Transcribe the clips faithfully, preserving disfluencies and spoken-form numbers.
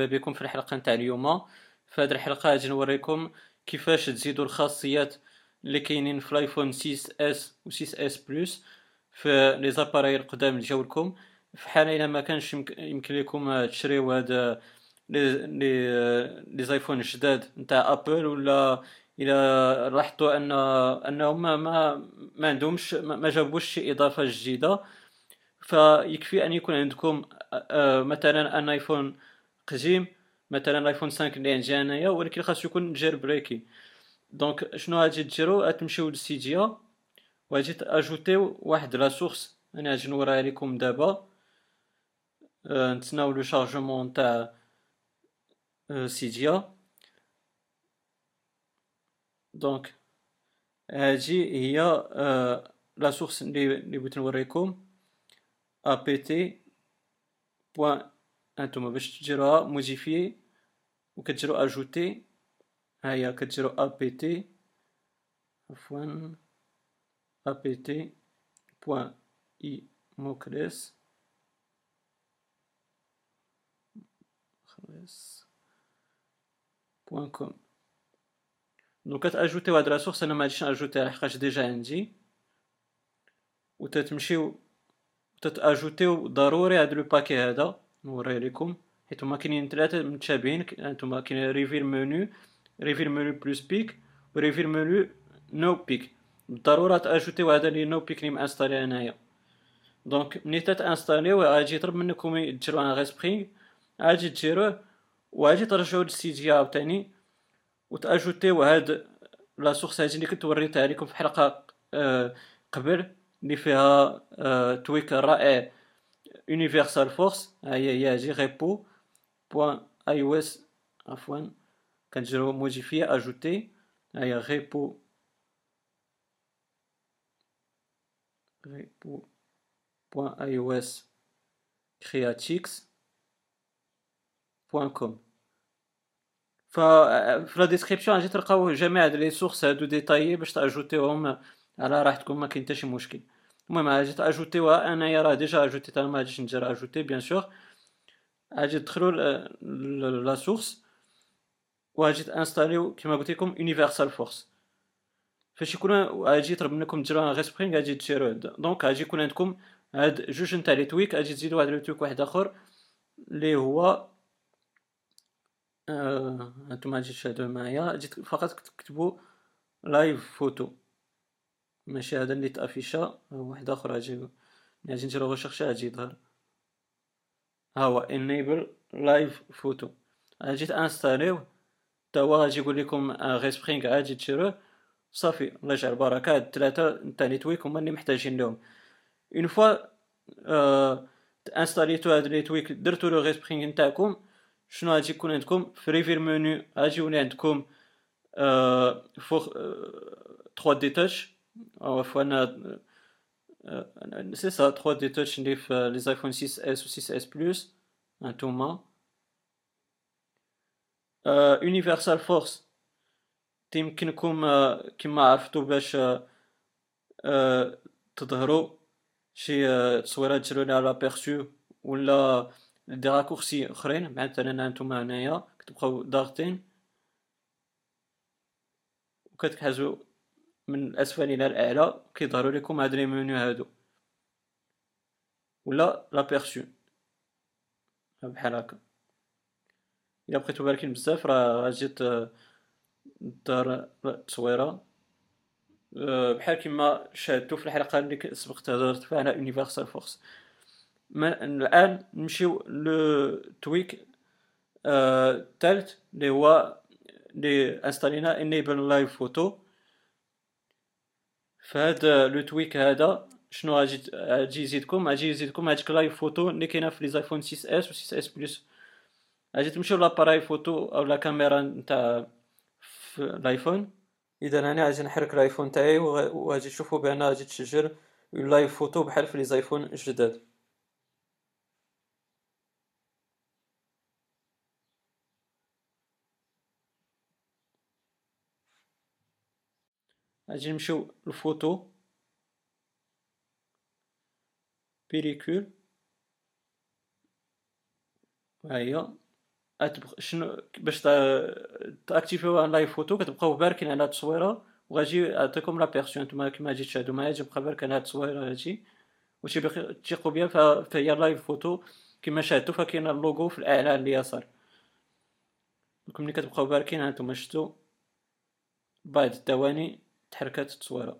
مرحبا بكم في الحلقة نتاع اليوم. في هذه الحلقة غادي نوريكم كيفاش تزيدوا الخاصيات اللي كاينين في الايفون ستة اس و ستة اس بلس في لي زاباراي القدام اللي جاو لكم. في حال الا ما كانش يمك- يمكن لكم تشريو هاد لي لي لي زايفون الجداد نتاع ابل، ولا الى لاحظتوا ان انهم ما ما, ما عندهمش ما ما جابوش شي اضافه جديده، فيكفي ان يكون عندكم آه، مثلا ان ايفون قديم، مثلا الايفون خمسة اللي عندي انايا، ولكن خاصو يكون جير بريكي. دونك شنو غادي ديروا؟ غتمشيو للسيديا وغادي تاجوتيو واحد لا سورس. انا غادي نوريها لكم دابا. آه، نتسناو لو شارجمون تاع آه، سيديا. دونك هذه هي آه، لا سورس اللي اللي بغيت نوريكم. apt بوان. انتما باش تديروها موديفيي وكتجرو اجوتي، ها هي كتجرو apt، عفوا apt بوان اي موكليس خلاص بوان كوم. دونك كتاجوتيو هاد لا سورس. انا ما غاديش ناجوتيها لحقاش ديجا عندي، وتتمشيو تتاجوتيو ضروري هاد لو باكي هذا نوريه لكم، حيت هما كاينين ثلاثه متشابهين. هانتوما كاين ريفير منو، ريفير منو بلس بيك، وريفير منو نو بيك. بالضروره تاجوتيو هذا اللي نو بيك اللي مانستالي انايا. دونك ملي تتانستاليو غادي يطلب منكم ديروا ان غيسبرينغ، غادي ديروه وغادي ترجعوا للسيديا عاوتاني وتاجوتيو هاد لا سورس هادي اللي كنت وريتها لكم في حلقه آه قبل، اللي فيها آه تويك رائع يونيفرسال فورس. ها هي هي هادي ريبو بوان اي او اس، عفوا كنجرو موديفي اجوتي. ها هي ريبو ريبو بوان اي او اس كرياتيكس بوان كوم. ف في لا ديسكريبسيون غادي تلقاو جميع هاد لي سورس هادو ديتايي باش تاجوتيهم على راحتكم، ما كاين حتى شي مشكل. المهم غادي تاجوتيوها، انايا راه ديجا اجوتيتها، ما غاديش ندير اجوتي بيان سور. غادي تدخلوا لا سورس وغادي تانستاليو كيما قلت لكم يونيفرسال فورس. فاش يكون غادي يطلب منكم ديروا ان غيسبرينغ غادي ديروه. دونك غادي يكون عندكم هاد جوج نتاع لي تويك، غادي تزيدوا واحد لو تويك واحد اخر اللي هو آه... هانتوما غادي تشاهدوه معايا. غادي فقط تكتبوا لايف فوتو، ماشي هذا اللي تافيشا، واحد اخر غادي غادي نديرو غوشيرشي غادي يظهر. ها هو enable live photo. غادي تانستاليوه تا هو غادي يقول لكم غيسبرينغ غادي ديروه صافي. الله يجعل البركه. هاد الثلاثه نتاع لي تويك هما اللي محتاجين لهم. اون فوا آه انستاليتو هاد لي تويك، درتو لو غيسبرينغ نتاعكم، شنو غادي يكون عندكم في ريفير منو؟ غادي يولي عندكم آه فوق آه ثري دي تاتش، او عفوا سي سا ثري دي تاتش اللي في لي ايفون ستة اس و ستة اس بلس. هانتوما يونيفرسال فورس تيمكنكم آه، كما عرفتوا باش آه، آه، تظهروا شي آه، تصويرات ديروا لها لابيرسو، ولا دي راكورسي اخرين. مثلا هانتوما هنايا كتبقاو ضاغطين وكتحازوا من الاسفل الى الاعلى كيظهروا لكم هاد لي منيو هادو، ولا لابيرسو بحال هكا. الا بقيتو باركين بزاف راه غتجي ت- دار التصويره أه، بحال كما شاهدتوا في الحلقه اللي سبقت هضرت فيها على يونيفرسال فورس. الان نمشيو لو تويك الثالث اللي هو اللي انستالينا انيبل لايف فوتو. فهاد لو تويك هذا شنو غادي غادي يزيدكم؟ غادي يزيدكم هاديك لايف فوتو اللي كاينه في لي ايفون ستة اس و ستة اس بلس. غادي تمشيو لاباراي فوتو او لا كاميرا نتاع في الايفون. اذا انا غادي نحرك الايفون تاعي وغ- وغادي تشوفوا بان غادي تسجل لايف فوتو بحال في لي زايفون الجداد. غادي نمشيو للفوتو بيريكول. ها هي أتبق... شنو باش تا- تاكتيفيو لايف فوتو، كتبقاو باركين على التصويره وغاجي يعطيكم لابيرسيون. نتوما كيما غادي تشاهدوا معايا تبقى باركين على التصويره هادي وتيبقى تيقوا بها. ف- فهي لايف فوتو كما شاهدتوا، فكاين اللوغو في الاعلى على اليسار. دونك ملي كتبقاو باركين هانتوما شفتوا بعد الثواني تحركات التصويره.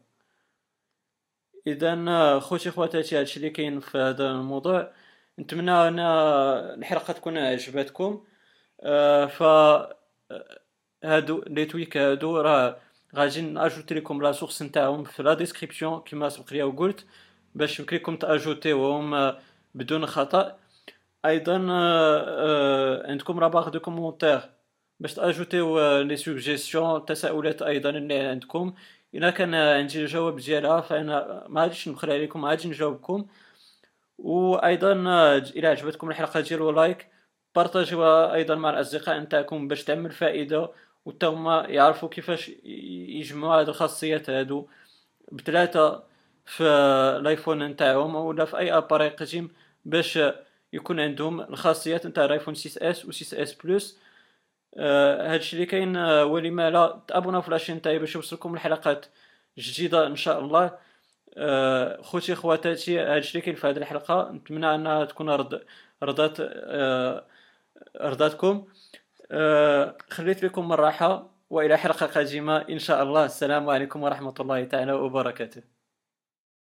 اذا خوتي خواتاتي هادشي اللي كاين في هذا الموضوع. نتمنى ان الحلقه تكون عجبتكم. آه، ف آه، هادو لي تويك هادو راه غادي ناجوتي لكم لا سورس نتاعهم في لا ديسكريبسيون كما سبق ليا وقلت، باش يمكن لكم تاجوتيوهم آه، بدون خطأ. ايضا آه، آه، عندكم راباغ دو كومونتير باش تاجوتيو آه، لي سوجيستيون التساؤلات ايضا اللي عندكم. الا كان عندي الجواب ديالها فانا ما غاديش نبخل عليكم، غادي نجاوبكم. وايضا آه، الى عجبتكم الحلقه ديروا لايك، بارطاجيوها ايضا مع الاصدقاء نتاعكم باش تعمل فائده وتا هما يعرفوا كيفاش ي- يجمعوا هاد الخاصيات هادو بثلاثه في الايفون نتاعهم ولا في اي اباري قديم، باش يكون عندهم الخاصيات نتاع الايفون ستة اس و ستة اس بلس. آه هادشي اللي كاين. آه ولما لا تابوناو في لاشين تاعي باش يوصلكم الحلقات جديده ان شاء الله. آه خوتي خواتاتي هادشي اللي كاين في هذه الحلقه، نتمنى انها تكون رض... رضات آه رضاتكم. آه خليت لكم من الراحه والى حلقه قادمه ان شاء الله. السلام عليكم ورحمه الله تعالى وبركاته.